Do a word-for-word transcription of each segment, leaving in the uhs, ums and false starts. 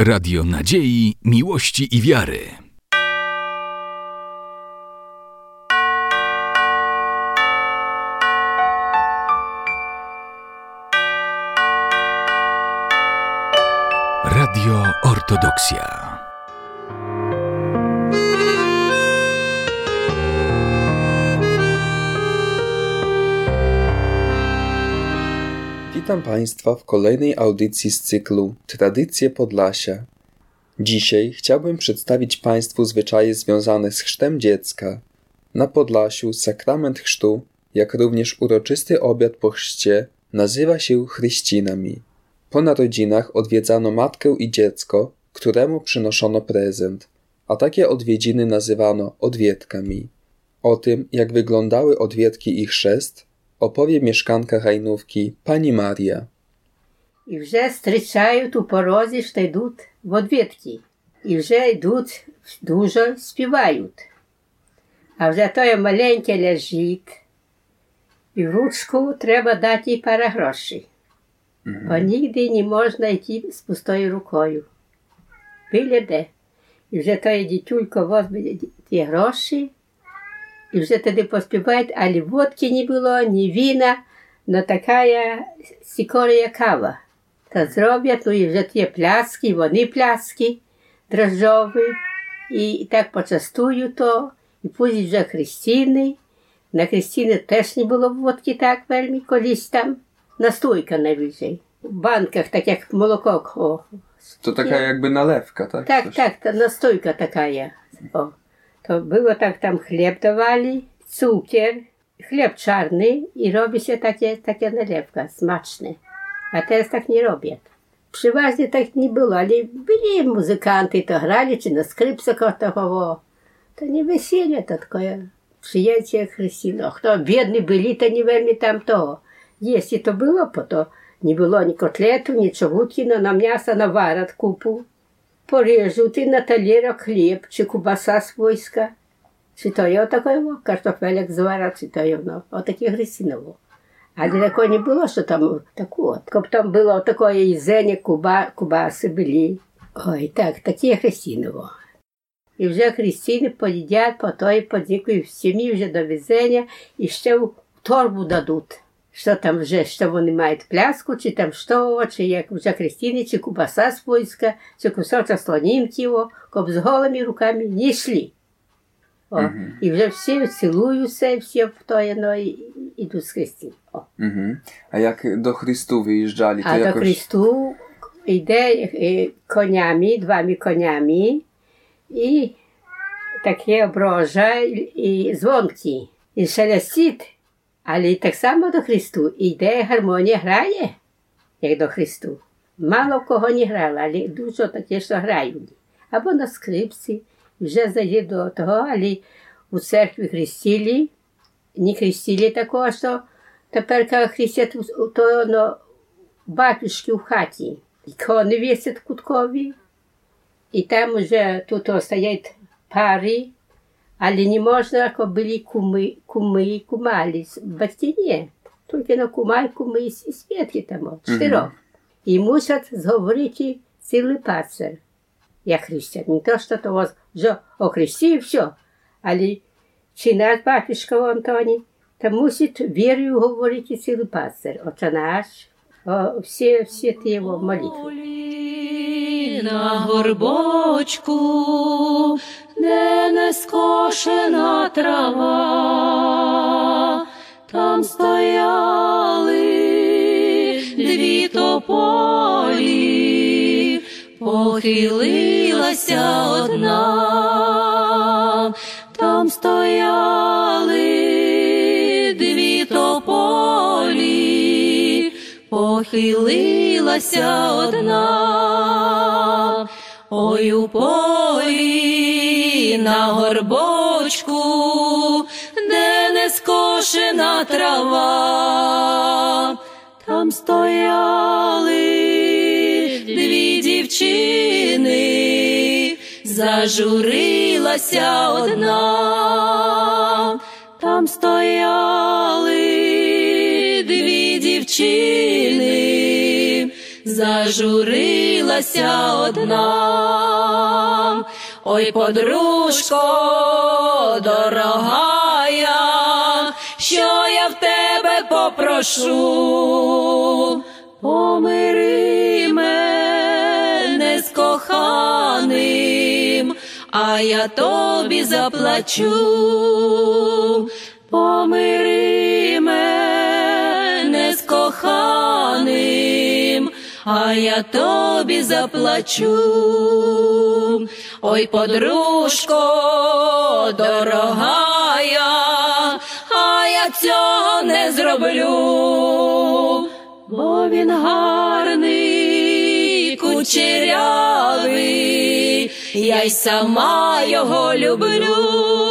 Radio Nadziei, Miłości i Wiary. Radio Ortodoksja. Witam Państwa w kolejnej audycji z cyklu Tradycje Podlasia. Dzisiaj chciałbym przedstawić Państwu zwyczaje związane z chrztem dziecka. Na Podlasiu sakrament chrztu, jak również uroczysty obiad po chrzcie, nazywa się chryścinami. Po narodzinach odwiedzano matkę i dziecko, któremu przynoszono prezent, a takie odwiedziny nazywano odwiedkami. O tym, jak wyglądały odwiedki i chrzest, opowie mieszkanka Hajnówki, pani Maria. І вже зустрічають у порозі, що йдуть в одвідки. І вже йдуть, дуже співають. А вже той маленький лежить, і в ручку треба дати їй пару грошей. Mm-hmm. Бо нігде не можна йти з пустою рукою. Біля де. І вже той дітюлько возьме ті гроші, і вже тоді поспівають, але водки не було, ні віна, но така сікорія кава. Та зроблять, ну і вже ті пляски, вони пляски дрожжові, і так почастують то, і пусть вже хрестини. На хрестини теж не було водки так вельми, колись там, настойка найвищий. В банках, так як молоко. О. To taka jakby nalewka, tak? Tak, Coś? tak, ta настойка така. О. To było tak, tam chleb dawali, cukier, chleb czarny i robi się takie, takie nalewka, smaczne. A teraz tak nie robią. Przeważnie tak nie było, ale byli muzykanty, to grali, czy na skrzypcach to To nie wesele, to tylko przyjęcie chryścijan. Kto biedni byli, to nie veľmi tam to. Jeśli to było, po to nie było ni kotletu, ni czowutki, no na mięsa nawarat kupu. Порежуть і на талерах хліб, чи кубаса свойська, чи то є отакого, картофелек зварять, чи то є, ну, отакі хрестиново. Але такого не було, що там таку от. Коли там було таке їзення, куба, кубаси були. Ой, так, такі хрестиново. І вже хрестини поїдять, по той подякують в сім'ї вже до везення, і ще в торбу дадуть. Що там вже, що вони мають пляску, чи там що, чи як вже хрестини, чи кубаса свойська, чи кусочок слонінки, щоб з голими руками не йшли. О, uh-huh. І вже всі цілуються, всі в той, ну, і йдуть з хрестин. Uh-huh. А як до Христу виїжджали? А якось... до Христу йде конями, двома конями, і таке оброжа, і дзвонки, і шелестить. Але так само до Христу йде гармонія, грає, як до Христу. Мало в кого не грала, але дуже таке, що грають. Або на скрипці, вже зайде до того, але у церкві хрестили, не хрестили такого, що тепер, коли хрестять, то ну, батюшки в хаті, ікони вісять куткові, і там вже тут стоять пари, але не можна, як були куми, куми і кумалі. Батьки ні. Тільки на кума і куми і свідки там, чотирьох. Mm-hmm. І мусять зговорити цілий пацер, як хрестять. Не то, що того, що охрестив, все. Але чи наш батюшка Антоні, то мусить вірою говорити цілий пацер. Отче наш, о, всі, всі ті його молитви. На горбочку, де не скошена трава, там стояли дві тополі, похилилася одна, там стояли дві тополі, похилилася одна. Ой, у полі на горбочку, де не скошена трава, там стояли дві дівчини, зажурилася одна, там стояли дві дівчини, зажурилася одна. Ой, подружко дорогая, що я в тебе попрошу, помири мене з коханим, а я тобі заплачу. Помири мене з коханим, а я тобі заплачу. Ой, подружко дорогая, а я цього не зроблю, бо він гарний, кучерявий, я й сама його люблю.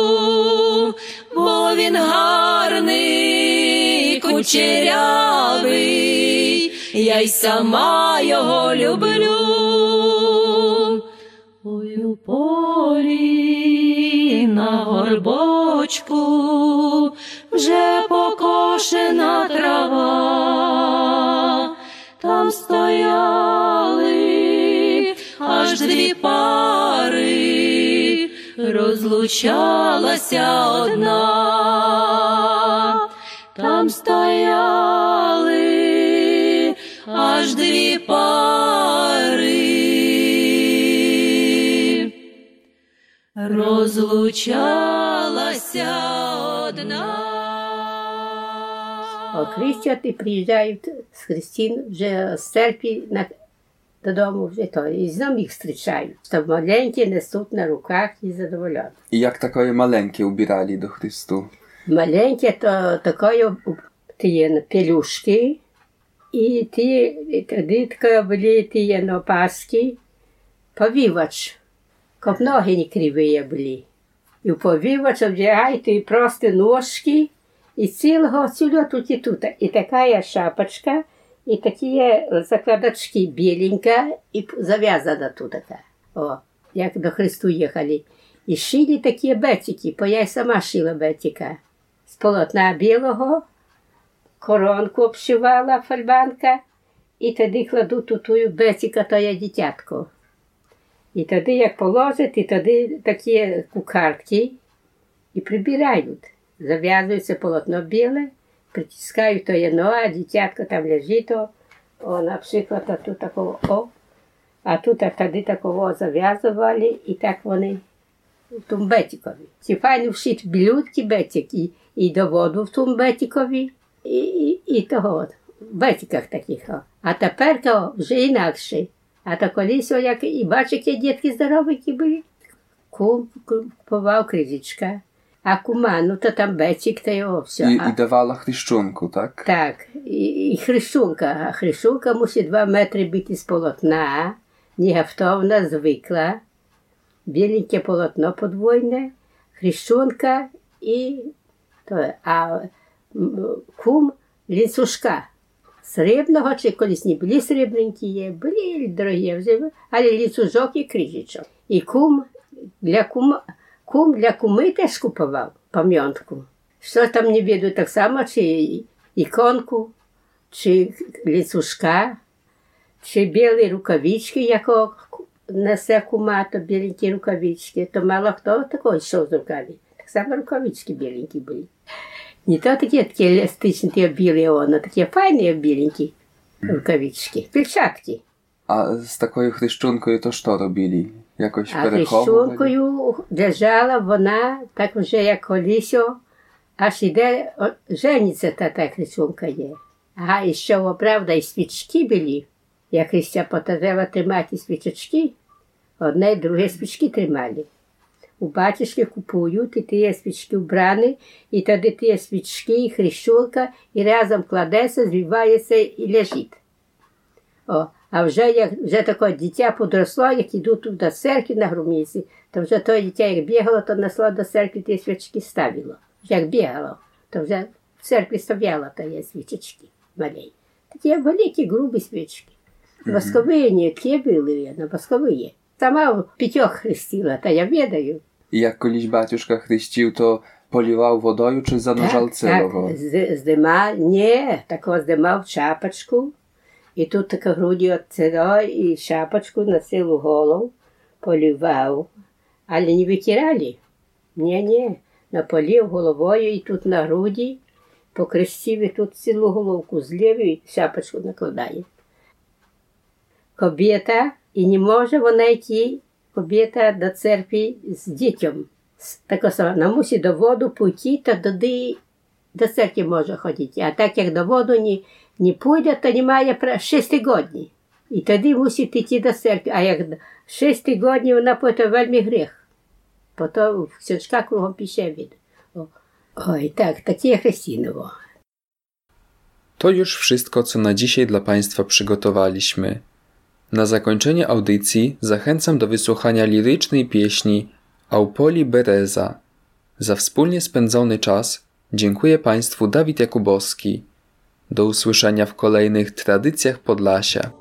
Бо він гарний, кучерявий, я й сама його люблю. Ой, у полі на горбочку вже покошена трава, там стояли аж дві пари, розлучалася одна. Там стояли аж дві пари, розлучалася одна. Охрещати приїжджають з Христин вже з церкви на, додому вже то. І знов їх зустрічають. Що маленькі несуть на руках і задоволені. I jak takie maleńkie ubierali do Chrystu? Маленькі то такої ті пелюшки, і ті, тоді такі були ті опаски, повівач, як ноги не криві були. І в повівач одягають і просто ножки, і цілого цілого тут і тут. І така шапочка, і такі закладочки біленька, і зав'язана тут така. О, як до Христу їхали. І шили такі бетики, бо я й сама шила бетика. З полотна білого, коронку обшивала фальбанка, і тоді кладу тутую бетика, то є дитятко. І тоді, як положать, і тоді такі кукартки, і прибирають. Зав'язується полотно біле, притискають то єно, а дитятко там лежить, о, о, наприклад, а тут такого, о, а тут а тоді такого зав'язували, і так вони в тому бетикові. Ці файно вшить білютки бетик, і, і до воду в тому бетикові, і, і, і того, в бетиках таких. О. А тепер то вже інакше. А то колись, о, як і бачиш, які дітки здоровенькі були. Кум купував крижечка. А кума, ну то там бетик, та його все. I, А, i dawała chryszczunku, tak? так, і, і хрещунка. А хрещунка мусить два метри бути з полотна, неготовна, звикла. Біленьке полотно подвойне, хрещунка і то, а м, кум лінцюжка. Срібного, чи колись не були срібненькі є, були дорогі вже, але лінцюжок і крижечок. І кум для кума, кум для куми теж купував пам'ятку. Що там не веду, так само, чи іконку, чи лінцюжка, чи білі рукавички, якого несе кума, то біленькі рукавички, то мало хто такого йшов з руками. Так само рукавички біленькі були. Не то такі, такі еластичні, ті білі, воно, такі файні біленькі рукавички, перчатки. A z taką chryszczunką to co robili? Jakoś А переховували? хрещункою держала вона, так вже як колись, аж іде, о, жениться та та хрещунка є. Ага, і що, правда, і свічки були. Як Христя потажила тримати свічечки, одне й друге свічки тримали. У батюшки купують, і ті свічки вбрані, і тоді ті свічки, і хрещунка, і разом кладеться, звивається і лежить. О, а вже як вже таке дитя подросло, як йдуть до церкви на Грумівці, то вже то дитя як бігало, то несло до церкви ті свічки ставило. Як бігало, то вже в церкві стояло ті свічечки маленькі. Такі великі, грубі свічки. Воскові не ті були, а воскові. Сама в п'ятьох хрестила, та я відаю. I jak kiedyś baciuszka chryścił, to poliwał wodoju, czy zanurzał Так, celowo? так, з- здимав, ні, такого здимав чапочку І тут така груді от цього, і шапочку на цілу голову полівав. Але не витирали. Ні-ні, наполів головою і тут на груді, покрестив і тут цілу головку злів і шапочку накладає. Кобєта, і не може вона йти, кобєта до церкви з дітям. Так само, вона мусить до воду пойти, та тоді до церкви може ходити. А так як до воду не, не пойде, то немає шість годин. І тоді мусить йти до церкви. А як шість годин вона пойде, вельми гріх. Потім książka кругом пише від. Oj, tak, takie Chrystynowo. To już wszystko, co na dzisiaj dla Państwa przygotowaliśmy. Na zakończenie audycji zachęcam do wysłuchania lirycznej pieśni Aupoli Bereza. Za wspólnie spędzony czas dziękuję Państwu Dawid Jakubowski. Do usłyszenia w kolejnych tradycjach Podlasia.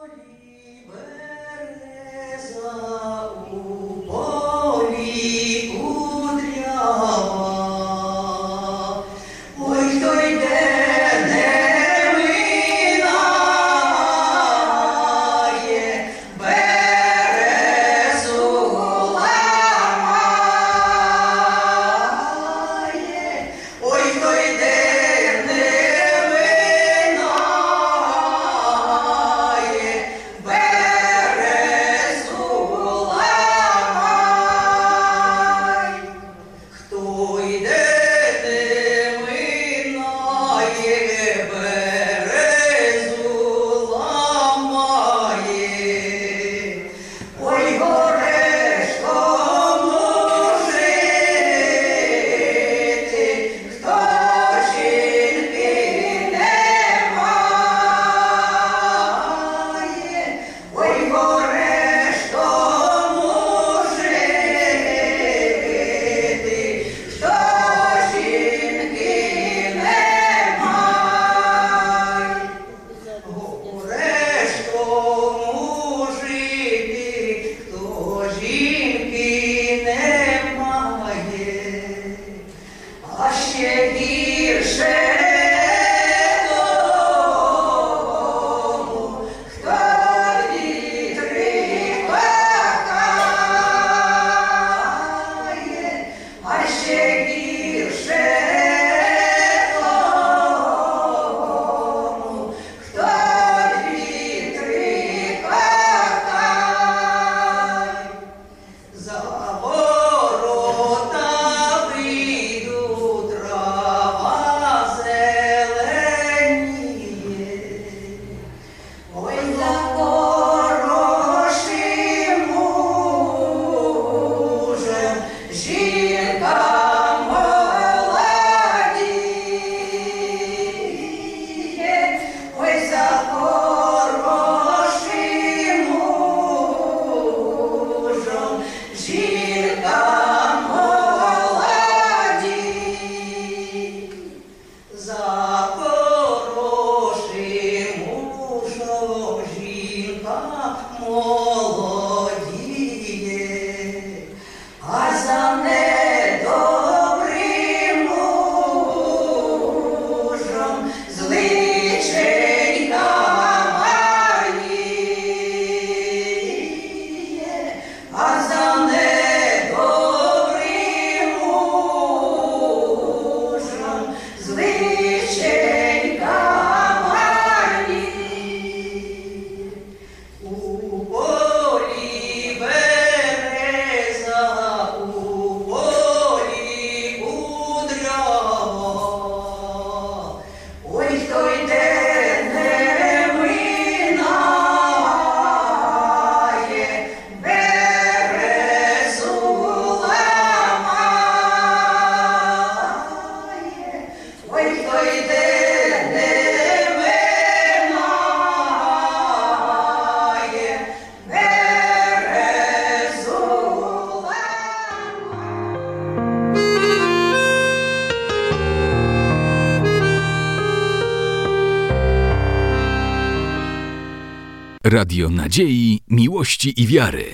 Radio Nadziei, Miłości i Wiary.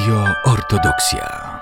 Radio Ortodoksja.